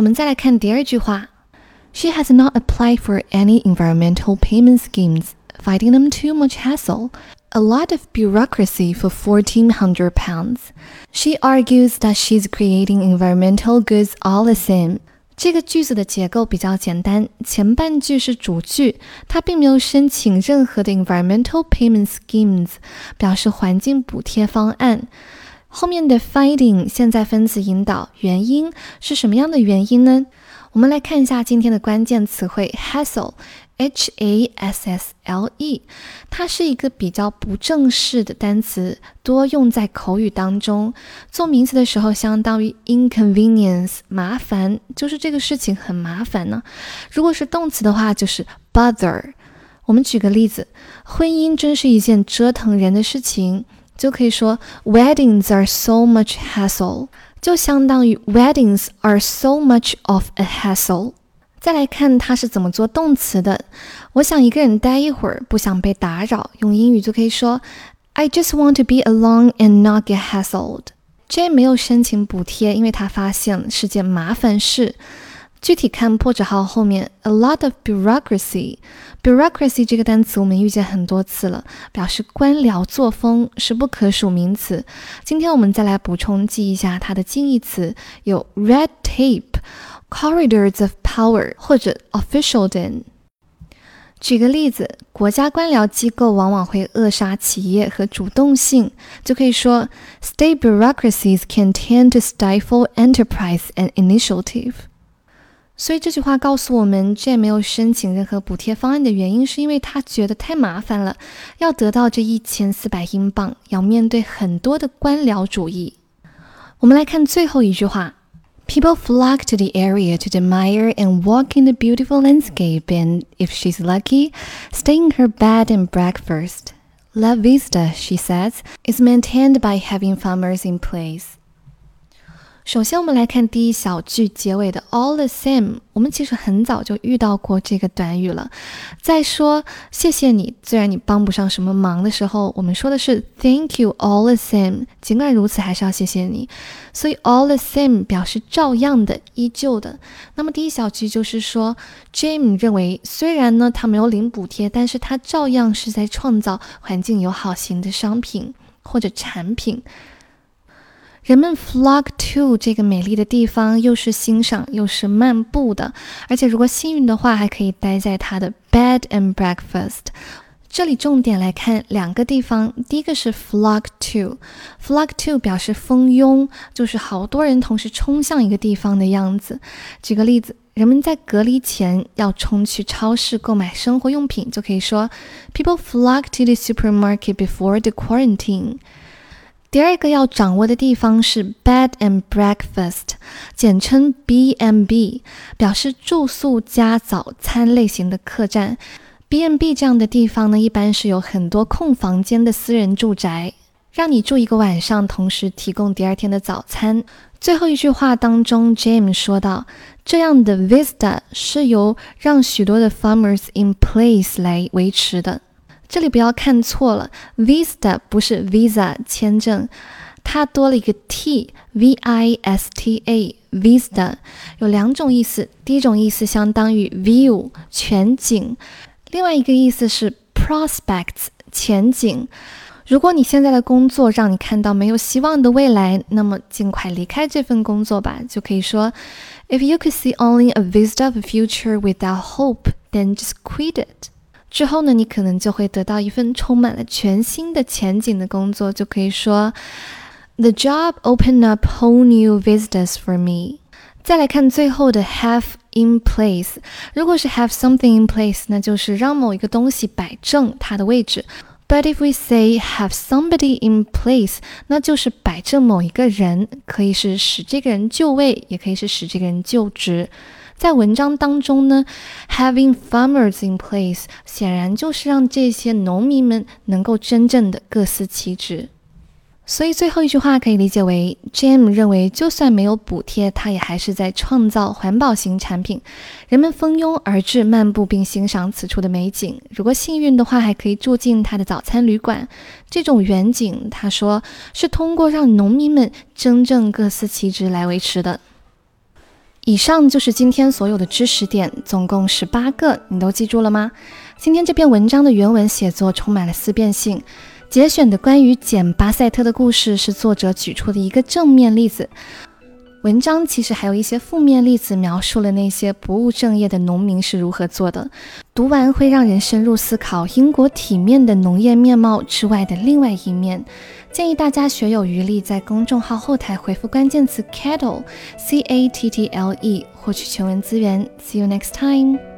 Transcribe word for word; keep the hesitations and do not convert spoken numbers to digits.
我们再来看第二句话 She has not applied for any environmental payment schemes, finding them too much hassle.A lot of bureaucracy for fourteen hundred pounds. She argues that she's creating environmental goods all the same. 这个句子的结构比较简单，前半句是主句，她并没有申请任何的 environmental payment schemes， 表示环境补贴方案。后面的 finding 现在分词引导，原因是什么样的原因呢？我们来看一下今天的关键词汇 hassle H A S S L E 它是一个比较不正式的单词，多用在口语当中。做名词的时候相当于 inconvenience 麻烦，就是这个事情很麻烦呢。如果是动词的话就是 bother。我们举个例子，婚姻真是一件折腾人的事情，就可以说 Weddings are so much hassle， 就相当于 Weddings are so much of a hassle。再来看他是怎么做动词的，我想一个人待一会儿，不想被打扰，用英语就可以说 I just want to be alone and not get hassled。 Jane 没有申请补贴，因为他发现是件麻烦事。具体看破折号后面 a lot of bureaucracy。 bureaucracy 这个单词我们遇见很多次了，表示官僚作风，是不可数名词。今天我们再来补充记一下它的近义词，有 red tape、corridors of power 或者 officialdom。 举个例子，国家官僚机构往往会扼杀企业和主动性，就可以说 State bureaucracies can tend to stifle enterprise and initiative。 所以这句话告诉我们 Jane 没有申请任何补贴方案的原因是因为他觉得太麻烦了，要得到这一千四百英镑，要面对很多的官僚主义。我们来看最后一句话People flock to the area to admire and walk in the beautiful landscape and, if she's lucky, stay in her bed and breakfast. La Vista, she says, is maintained by having farmers in place. 首先我们来看第一小句结尾的 all the same， 我们其实很早就遇到过这个短语了。在说谢谢你，虽然你帮不上什么忙的时候，我们说的是 thank you all the same， 尽管如此还是要谢谢你。所以 all the same 表示照样的，依旧的。那么第一小句就是说 Jane 认为虽然呢他没有领补贴，但是他照样是在创造环境友好型的商品或者产品。人们 flock to 这个美丽的地方，又是欣赏又是漫步的，而且如果幸运的话还可以待在它的 bed and breakfast。 这里重点来看两个地方，第一个是 flock to。 flock to 表示蜂拥，就是好多人同时冲向一个地方的样子。举个例子，人们在隔离前要冲去超市购买生活用品，就可以说 People flock to the supermarket before the quarantine。第二个要掌握的地方是 bed and breakfast， 简称 B and B， 表示住宿加早餐类型的客栈。 B and B 这样的地方呢，一般是有很多空房间的私人住宅，让你住一个晚上，同时提供第二天的早餐。最后一句话当中 James 说到，这样的 vista 是由让许多的 farmers in place 来维持的。这里不要看错了， Vista 不是 Visa 签证，它多了一个 T， V I S T A Vista 有两种意思，第一种意思相当于 view 全景，另外一个意思是 prospects 前景。如果你现在的工作让你看到没有希望的未来，那么尽快离开这份工作吧，就可以说 If you could see only a vista of a future without hope, then just quit it。之后呢，你可能就会得到一份充满了全新的前景的工作，就可以说 The job opened up whole new vistas for me。 再来看最后的 have in place， 如果是 have something in place， 那就是让某一个东西摆正它的位置。 But if we say have somebody in place， 那就是摆正某一个人，可以是使这个人就位，也可以是使这个人就职。在文章当中呢 having farmers in place 显然就是让这些农民们能够真正的各司其职。所以最后一句话可以理解为 Jane 认为就算没有补贴，他也还是在创造环保型产品，人们蜂拥而至漫步并欣赏此处的美景，如果幸运的话还可以住进他的早餐旅馆。这种远景他说是通过让农民们真正各司其职来维持的。 以上就是今天所有的知识点，总共十八个，你都记住了吗？今天这篇文章的原文写作充满了思辨性，节选的关于简巴塞特的故事是作者举出的一个正面例子。文章其实还有一些负面例子，描述了那些不务正业的农民是如何做的。读完会让人深入思考英国体面的农业面貌之外的另外一面。建议大家学有余力，在公众号后台回复关键词 cattle C A T T L E 获取全文资源。See you next time.